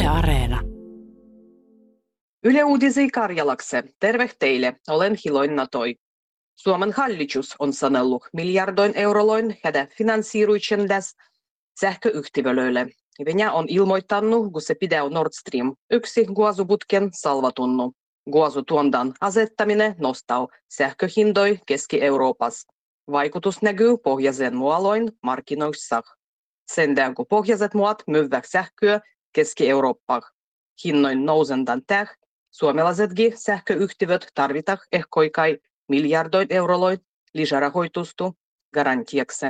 Yle Areena. Yle Uudisi Karjalakse. Terve teille, olen Hiloin Natoi. Suomen hallitus on sanellut miljardoin euroloin hädä finansiiruitsendas sähköyhtiölöille. Venäjä on ilmoittanut, kun se pidää Nord Stream 1 kaasuputken salvatunnu. Kaasutuondan asettaminen nostaa sähköhindoi Keski-Euroopassa. Vaikutus näkyy pohjoisen mualoin markkinoissa. Sen kun pohjoiset muat myyvät sähköä Keski-Eurooppaan. Hinnoin nousendan täh, suomalaisetkin sähköyhtiöt tarvitaan ehkoikai miljardoin euroloin lisärahoitusta garantiaksi.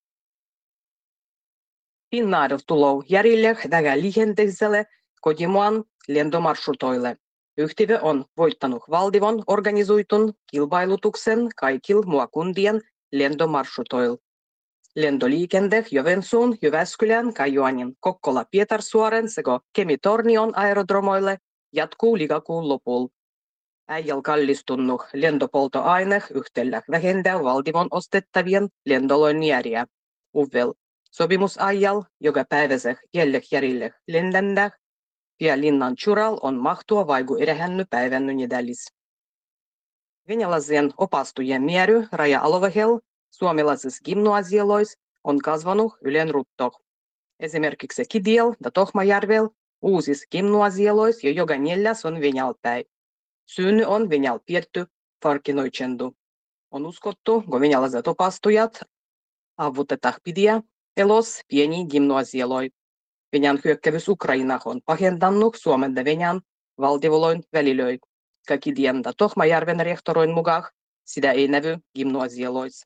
Finnair tulou järjelle tällä liikenteiselle kotimaan lentomarsrutoille. Yhtiö on voittanut valtion organisoitun kilpailutuksen kaikilla maakuntien lentomarsrutoilla. Lentoliikenne Joensuun, Jyväskylän, Kajaaniin, Kokkola, Pietarsaaren sekä Kemi-Tornion aerodromoille jatkuu lokakuun lopulla. Äijäl kallistunut lentopolttoaine yhtälä vähentää valtion ostettavien lentolojen järjää. Uvel sopimusajal, joka päiväseh järjelle lennändä, ja linnan chural on mahtua vaiku erehänny päivänny nedälis. Venäläisen opastujen määrä raja-alueella suomalaisissa gimnasioloissa on kasvanut ylen rutto. Esimerkiksi Kidiel ja Tohmajärvel uusissa gimnasioloissa jo joka neljäs on venäjälpäin. Syynny on venäjäl pietty farkinoitsendu. On uskottu, kun venäläiset opastujat avutetaan pidiä elos pieni gimnasioloi. Venäjän hyökkäys Ukrainaan on pahentanut Suomen ja Venäjän valtiolojen välilöi. Kidien ja Tohmajärven rehtoroin mukaan sitä ei näy gimnasioloissa.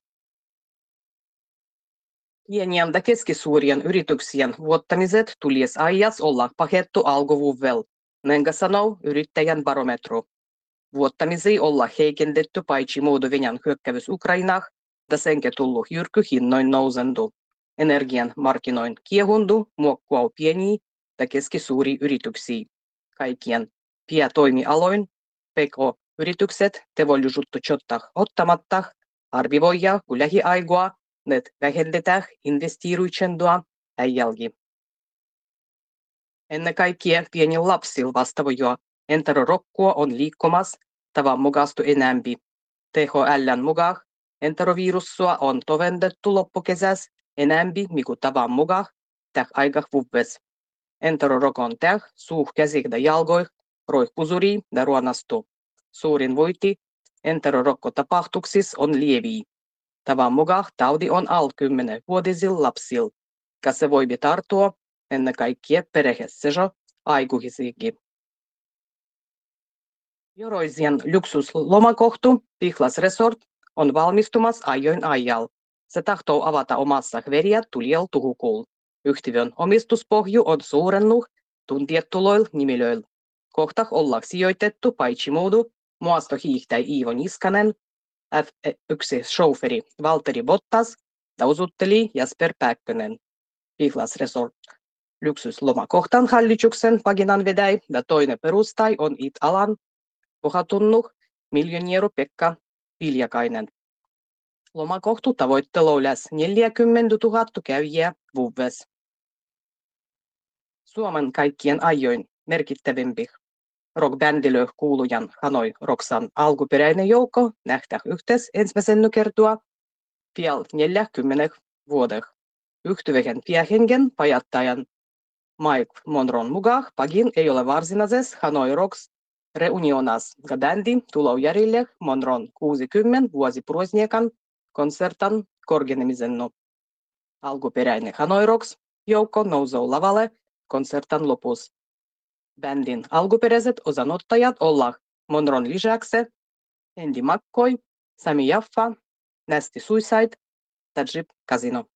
Pienien ja keskisuurien yrityksien vuottamiset tulisi ajassa olla pahettu alkuvuodella, näin sanoo yrittäjän barometru. Vuottamisia olla heikennetty paitsi muodo Venäjän hyökkäys Ukrainaan, ja senkin tullut jyrkky hinnoin nousendu. Energian markkinoin kiehundu muokkuu pieniä ja keskisuuria yrityksiä. Kaikkien päätoimialoin PK-yritykset tevollisuutta ottamatta arvioidaan, kun lähiaikoina ne vähennetään investiiruitsendoa äijälgi. Ennen kaikkea pienillä lapsilla vastaavaa enterorokkua on liikkumassa tavan mukaista enemmän. THL:n mukaan enterovirussua on tovendettu loppukesässä enemmän kuin tavan mukaan täh aika vuodessa. Enterorokon täh suuh käsik ja jalgoih roihpusuri ja ruonastu. Suurin voiti enterorokko-tapahtuksissa on lieviä. Tavan mukaan taudi on alle 10-vuotisilla lapsilla, ja se voi tarttua ennen kaikkea perheessä aikuisiinkin. Joroisien luksuslomakohtu Pihlas Resort on valmistumassa ajoin ajalla. Se tahtoo avata omassa veriä tulijalla tuhukuulla. Yhtiön omistuspohju on suurennut tuntiettuloilla nimilöillä. Kohta ollaan sijoitettu paitsi muudu muastohiihtäjä Iivo Niskanen, F1-chaufferi Valtteri Bottas ja usutteli Jasper Pääkkönen. Pihlas Resort luksuslomakohtan hallituksen paginan vedäi ja toinen perustai on IT-alan pohatunnut miljonääru Pekka Viljakainen. Lomakohtu tavoitteluu lähes 40 000 kävijää vuodessa. Suomen kaikkien ajoin merkittävimpi rockbändilö kuulujan Hanoi Rocksan alkuperäinen joukko nähtää yhteensä ensimmäisen kertaa pian 40 vuodella. Yhtyvehen päähengen pajattajan Mike Monron mukaan pagin ei ole varsinaisessa Hanoi Rocks reunionas, ja bändi tulee järjelle Monron 60 vuosiprazdnikan konsertan korgenemisennu. Alkuperäinen Hanoi Rocks joukko nousee lavalle konsertan lopussa. Bändin alkuperäiset osanottajat olla Monron lisäksi Andy McCoy, Sami Jaffa, Nasty Suicide ja Jeep Casino.